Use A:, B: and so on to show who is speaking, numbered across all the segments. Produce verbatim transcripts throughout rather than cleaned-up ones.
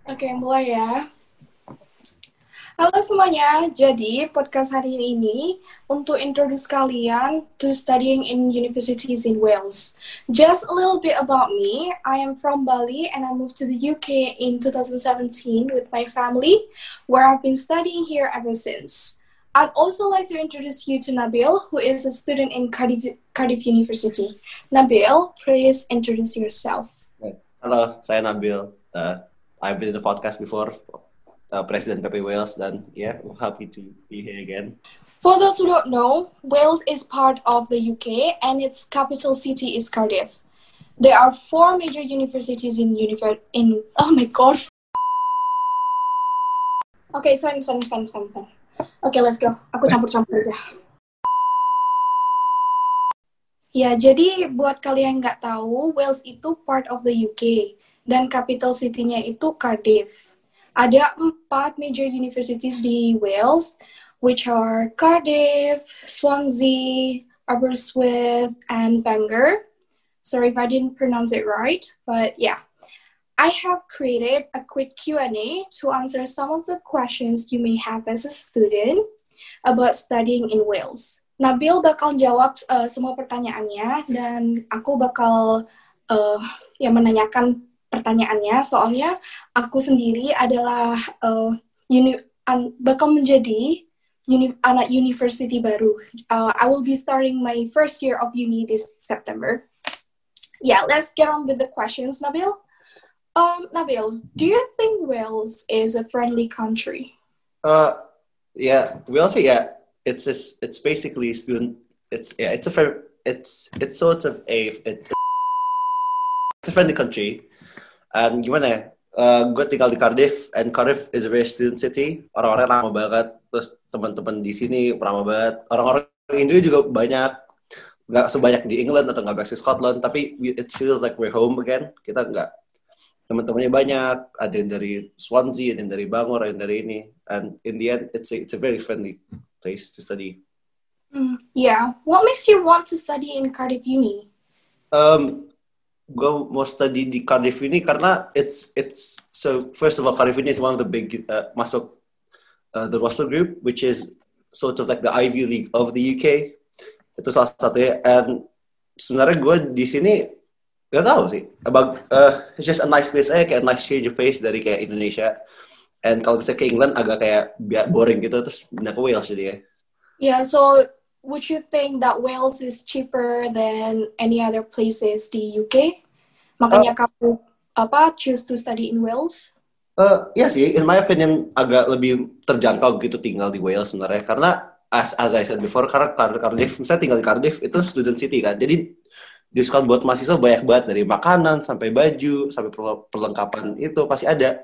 A: Oke, mulai ya. Halo semuanya, jadi podcast hari ini untuk introduce kalian to studying in universities in Wales. Just a little bit about me, I am from Bali and I moved to the U K in twenty seventeen with my family, where I've been studying here ever since. I'd also like to introduce you to Nabil, who is a student in Cardiff, Cardiff University. Nabil, please introduce yourself.
B: Halo, saya Nabil. Uh, I've been in the podcast before, uh, President P P Wales, dan yeah, I'm happy to be here again.
A: For those who don't know, Wales is part of the U K and its capital city is Cardiff. There are four major universities in univer- in oh my god. Okay, sorry, sorry, sorry, sorry, sorry. Okay, let's go. Aku campur-campur aja. Ya, jadi buat kalian nggak tahu, Wales itu part of the U K dan capital city-nya itu Cardiff. Ada empat major universities di Wales, which are Cardiff, Swansea, Aberystwyth, and Bangor. Sorry if I didn't pronounce it right, but yeah. I have created a quick Q and A to answer some of the questions you may have as a student about studying in Wales. Nabil bakal jawab uh, semua pertanyaannya dan aku bakal uh, ya menanyakan pertanyaannya, soalnya aku sendiri adalah uh, uni- an- bakal menjadi uni- anak university baru. Uh, I will be starting my first year of uni this September. Yeah, let's get on with the questions, Nabil. Um, Nabil, do you think Wales is a friendly country?
B: Uh, yeah, Wales, yeah, it's just, it's basically student. It's yeah, it's a fair, it's it's sort of a it, it's a friendly country. And gimana ya? Uh, gue tinggal di Cardiff, and Cardiff is a very student city. Orang-orang ramah banget. Terus teman-teman di sini ramah banget. Orang-orang Indo juga banyak. Nggak sebanyak di England atau nggak banyak di Scotland. Tapi it feels like we're home again. Kita nggak. Teman-temannya banyak. Ada yang dari Swansea, ada yang dari Bangor, ada yang dari ini. And in the end, it's a, it's a very friendly place to study.
A: Mm, yeah. What makes you want to study in Cardiff Uni?
B: Um, gue mau study di Cardiff ini karena it's it's so first of all Cardiff ini is one of the big uh, masuk uh, the Russell Group, which is sort of like the Ivy League of the U K. Itu salah satunya. And sebenarnya gue di sini gak tahu sih about uh, it's just a nice place aja, kayak a nice change of pace dari kayak Indonesia. And kalau bisa ke England agak kayak boring gitu, terus pindah ke Wales jadi ya.
A: Yeah, so would you think that Wales is cheaper than any other places di U K? Makanya uh, kamu apa choose to study in Wales?
B: Uh, ya sih, in my opinion agak lebih terjangkau gitu tinggal di Wales sebenarnya, karena as as I said before, karena Cardiff, misalnya tinggal di Cardiff itu student city kan, jadi diskon buat mahasiswa banyak banget, dari makanan sampai baju sampai perlengkapan itu pasti ada.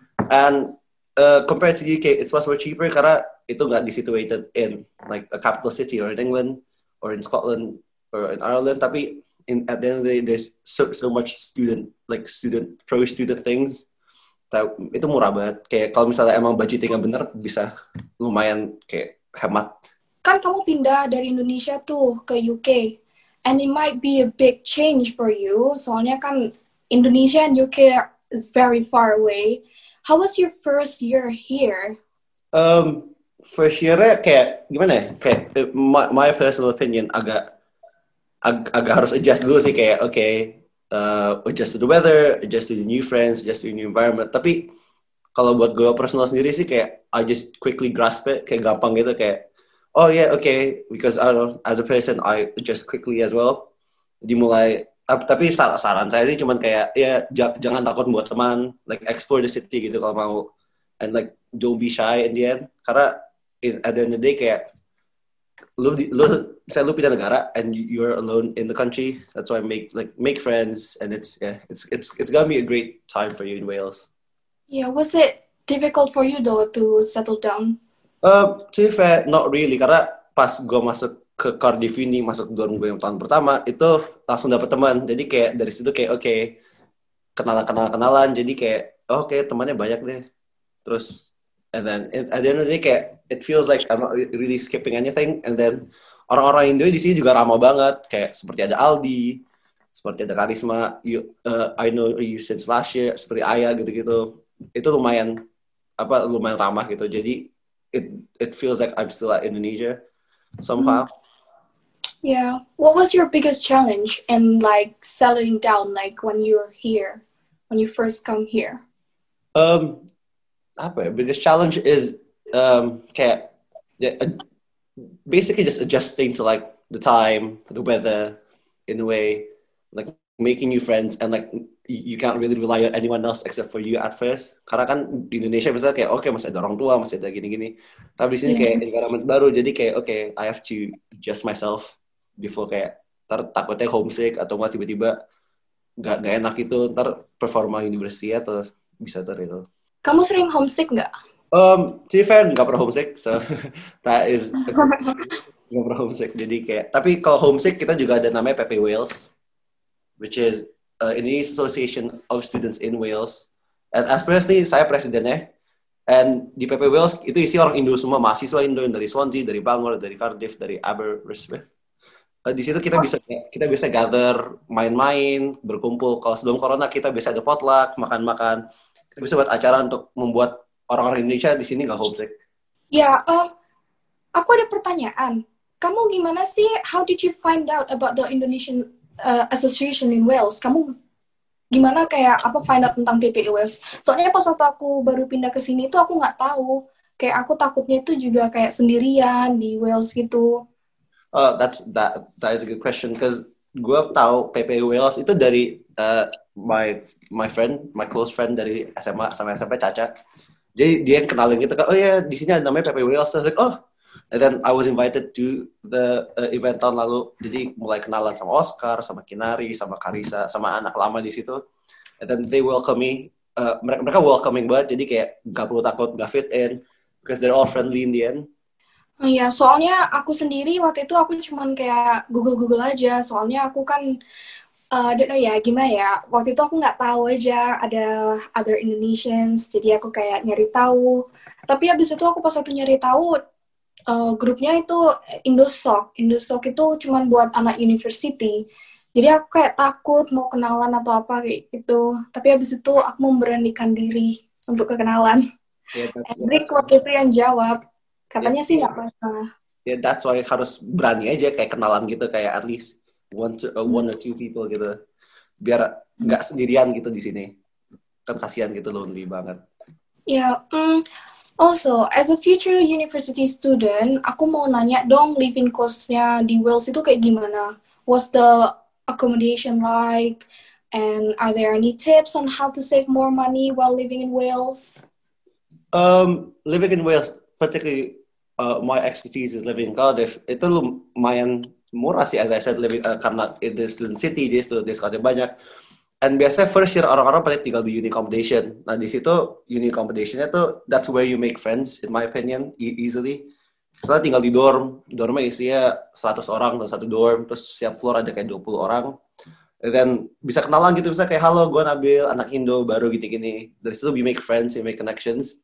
B: And uh, compared to U K, it's much more cheaper karena itu nggak situated in like a capital city or in England or in Scotland or in Ireland, tapi in at the end of the day there's so so much student like student pro student things that itu murah banget. Kayak kalau misalnya emang budgetingnya bener bisa lumayan kayak hemat.
A: Kan kamu pindah dari Indonesia tuh ke U K. And it might be a big change for you. Soalnya kan Indonesia and U K is very far away. How was your first year here?
B: Um, first year-nya kayak gimana ya? Kayak my, my personal opinion agak ag- agak harus adjust dulu sih, kayak oke, okay, uh, adjust to the weather, adjust to the new friends, adjust to the new environment. Tapi kalau buat gue personal sendiri sih kayak I just quickly grasp it, kayak gampang gitu, kayak oh yeah, okay, because I don't know, as a person I adjust quickly as well. Jadi mulai, tapi saran, saran saya sih cuman kayak ya j- jangan takut buat teman, like explore the city gitu kalau mau, and like don't be shy in the end, karena in, at the end of the day kayak lu lu misalnya lu pindah negara and you're alone in the country, that's why make like make friends, and it's yeah it's it's it's gonna be a great time for you in Wales.
A: Yeah, was it difficult for you though to settle down?
B: Uh, to be fair, not really, karena pas gue masuk ke Cardiff ini, masuk dorm gue yang tahun pertama, itu langsung dapet teman. Jadi kayak dari situ kayak oke, okay, kenalan-kenalan-kenalan, jadi kayak oh, oke okay, temannya banyak deh. Terus, and then at the end of the day kayak it feels like I'm not really skipping anything. And then orang-orang Indo di sini juga ramah banget, kayak seperti ada Aldi, seperti ada Karisma, you, uh, I know you since last year, seperti Ayah gitu-gitu. itu lumayan apa lumayan ramah gitu. Jadi it it feels like I'm still at Indonesia somehow.
A: Mm. Yeah. What was your biggest challenge in like settling down, like when you were here, when you first come here?
B: Um, apa ya? Biggest challenge is um kayak yeah, basically just adjusting to like the time, the weather, in a way, like making new friends and like you can't really rely on anyone else except for you at first. Karena kan di Indonesia misalnya kayak oke okay, masih ada orang tua, masih ada gini-gini. Tapi di sini yeah. kayak environment baru, jadi kayak oke, okay, I have to adjust myself before kayak ntar takutnya homesick atau nggak tiba-tiba nggak nggak enak itu ntar performa university atau bisa ter itu.
A: Kamu sering homesick nggak?
B: Um, to be fair, nggak pernah homesick, so that is nggak pernah homesick. Jadi kayak, tapi kalau homesick kita juga ada namanya P P Wales, which is uh, Indonesian Association of Students in Wales. And as personally, saya presidennya. And di P P Wales itu isi orang Indo semua, mahasiswa Indo dari Swansea, dari Bangor, dari Cardiff, dari Aberystwyth. Uh, di situ kita bisa kita bisa gather, main-main, berkumpul. Kalau sebelum corona kita bisa ada potluck, makan-makan. Kita bisa buat acara untuk membuat orang-orang Indonesia di sini nggak homesick.
A: Ya, um, aku ada pertanyaan. Kamu gimana sih? How did you find out about the Indonesian uh, Association in Wales? Kamu gimana kayak apa find out tentang P P I Wales? Soalnya pas waktu aku baru pindah ke sini tuh aku nggak tahu. Kayak aku takutnya itu juga kayak sendirian di Wales gitu.
B: Oh, that's that that is a good question because gue tahu P P I Wales itu dari uh, my my friend, my close friend dari S M A sama S M P Caca. Jadi dia yang kenalin gitu kan, oh ya di sini ada namanya P P I Wales. So I was like, oh, and then I was invited to the uh, event tahun lalu. Jadi mulai kenalan sama Oscar, sama Kinari, sama Karisa, sama anak lama di situ. And then they welcome me. Uh, mereka mereka welcoming banget. Jadi kayak gak perlu takut gak fit in because they're all friendly in the end.
A: Oh iya, soalnya aku sendiri waktu itu aku cuman kayak Google-Google aja. Soalnya aku kan, uh, I don't know ya, gimana ya. Waktu itu aku nggak tahu aja ada other Indonesians. Jadi aku kayak nyari tahu. Tapi abis itu aku pas waktu nyari tahu, uh, grupnya itu Indosoc. Indosoc itu cuman buat anak university. Jadi aku kayak takut mau kenalan atau apa kayak gitu. Tapi abis itu aku memberanikan diri untuk kekenalan. Yeah, Hendrik waktu itu yang jawab. Katanya yeah. sih nggak masalah.
B: Ya, yeah, that's why harus berani aja kayak kenalan gitu, kayak at least one, to, uh, one or two people gitu. Biar nggak sendirian gitu di sini. Kan kasihan gitu, lonely banget.
A: Ya, yeah, um, also as a future university student, aku mau nanya dong living cost-nya di Wales itu kayak gimana? What's the accommodation like? And are there any tips on how to save more money while living in Wales?
B: Um, living in Wales, particularly uh, my expertise is living in Cardiff. Itu lumayan murah sih, as I said, living uh, karena itu student city, jadi student discount banyak. And biasanya first year orang-orang pada tinggal di uni accommodation. Nah di situ uni accommodationnya tuh that's where you make friends, in my opinion, e- easily. Setelah tinggal di dorm, dormnya isinya seratus orang dalam satu dorm, terus setiap floor ada kayak dua puluh orang. And then bisa kenalan gitu, bisa kayak halo, gue Nabil, anak Indo baru gini-gini. Dari situ we make friends, we make connections.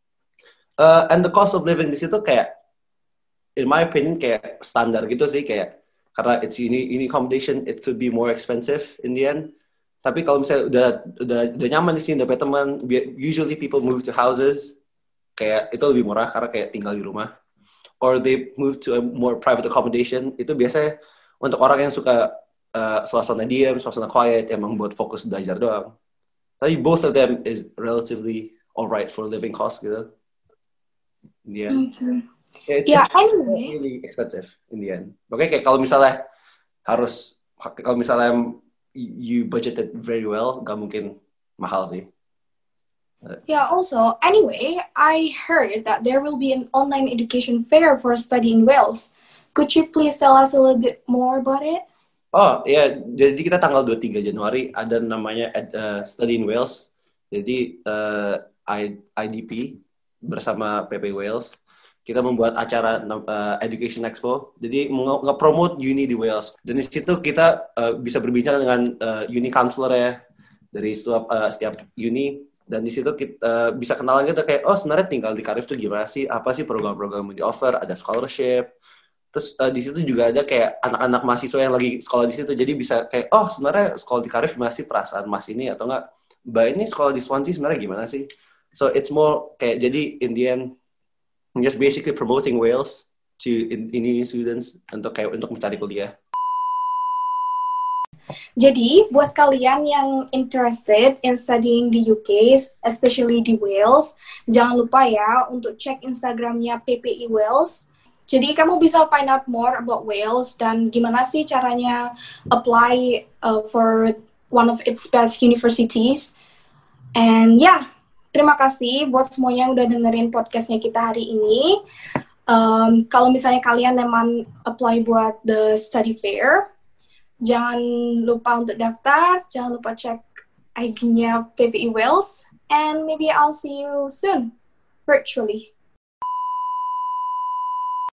B: Uh, and the cost of living di situ kayak, in my opinion, kayak standar gitu sih, kayak karena it's uni, uni accommodation, it could be more expensive in the end. Tapi kalau misalnya udah udah udah nyaman di sini, udah punya teman, usually people move to houses, kayak itu lebih murah karena kayak tinggal di rumah. Or they move to a more private accommodation. Itu biasanya untuk orang yang suka uh, suasana diam, suasana quiet, yang membuat fokus belajar doang. Tapi both of them is relatively alright for living cost gitu. In the end.
A: Okay.
B: Yeah, it's,
A: yeah,
B: it's anyway. really expensive in the end. Oke, kayak kalau misalnya harus, kalau misalnya you budgeted very well, gak mungkin mahal sih.
A: Yeah, also, anyway, I heard that there will be an online education fair for study in Wales. Could you please tell us a little bit more about it?
B: Oh, ya, yeah. Jadi kita tanggal dua puluh tiga Januari ada namanya uh, Study in Wales. Jadi uh, I, IDP bersama P P Wales, kita membuat acara uh, Education Expo. Jadi nge-promote uni di Wales. Dan di situ kita uh, bisa berbincang dengan uh, uni counselor ya dari setiap, uh, setiap uni. Dan di situ kita uh, bisa kenalan gitu kayak, oh sebenarnya tinggal di Cardiff tuh gimana sih? Apa sih program-program yang di-offer? Ada scholarship. Terus uh, di situ juga ada kayak anak-anak mahasiswa yang lagi sekolah di situ. Jadi bisa kayak, oh sebenarnya sekolah di Cardiff gimana sih perasaan mas ini atau enggak? Mbak ini sekolah di Swansea sebenarnya gimana sih? So it's more kayak jadi in the end I'm just basically promoting Wales to in, Indian students untuk kayak untuk mencari kuliah.
A: Jadi, buat kalian yang interested in studying di U K, especially di Wales, jangan lupa ya untuk cek Instagramnya P P I Wales. Jadi, kamu bisa find out more about Wales dan gimana sih caranya apply uh, for one of its best universities. And ya, yeah, terima kasih buat semuanya yang udah dengerin podcastnya kita hari ini. Um, kalau misalnya kalian memang apply buat the study fair, jangan lupa untuk daftar, jangan lupa cek I G-nya P P I Wales, and maybe I'll see you soon, virtually.